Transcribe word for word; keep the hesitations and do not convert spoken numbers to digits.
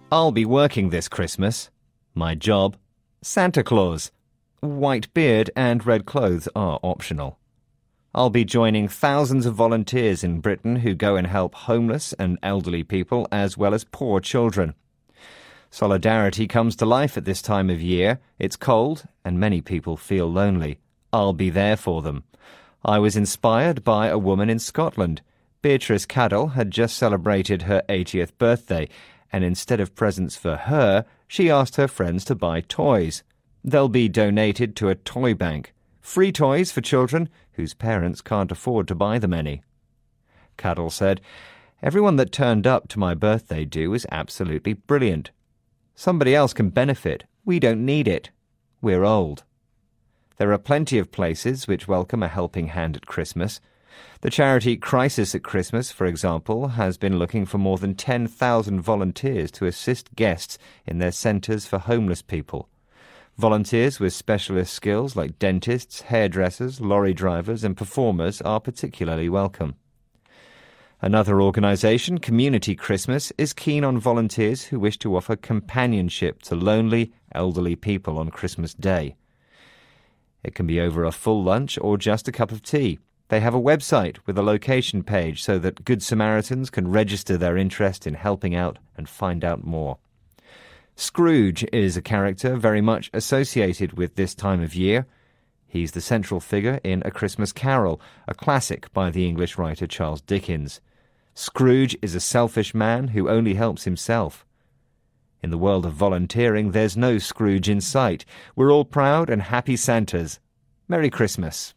I'll be working this Christmas. My job, Santa Claus. White beard and red clothes are optional. I'll be joining thousands of volunteers in Britain who go and help homeless and elderly people as well as poor children. Solidarity comes to life at this time of year. It's cold and many people feel lonely. I'll be there for them. I was inspired by a woman in Scotland. Beatrice Cadell had just celebrated her eightieth birthday, and instead of presents for her, she asked her friends to buy toys. They'll be donated to a toy bank. Free toys for children whose parents can't afford to buy them any. Cadell said, "Everyone that turned up to my birthday do is absolutely brilliant. Somebody else can benefit. We don't need it. We're old." There are plenty of places which welcome a helping hand at Christmas. The charity Crisis at Christmas, for example, has been looking for more than ten thousand volunteers to assist guests in their centres for homeless people. Volunteers with specialist skills like dentists, hairdressers, lorry drivers and performers are particularly welcome. Another organisation, Community Christmas, is keen on volunteers who wish to offer companionship to lonely, elderly people on Christmas Day. It can be over a full lunch or just a cup of tea. They have a website with a location page so that Good Samaritans can register their interest in helping out and find out more. Scrooge is a character very much associated with this time of year. He's the central figure in A Christmas Carol, a classic by the English writer Charles Dickens. Scrooge is a selfish man who only helps himself. In the world of volunteering, there's no Scrooge in sight. We're all proud and happy Santas. Merry Christmas.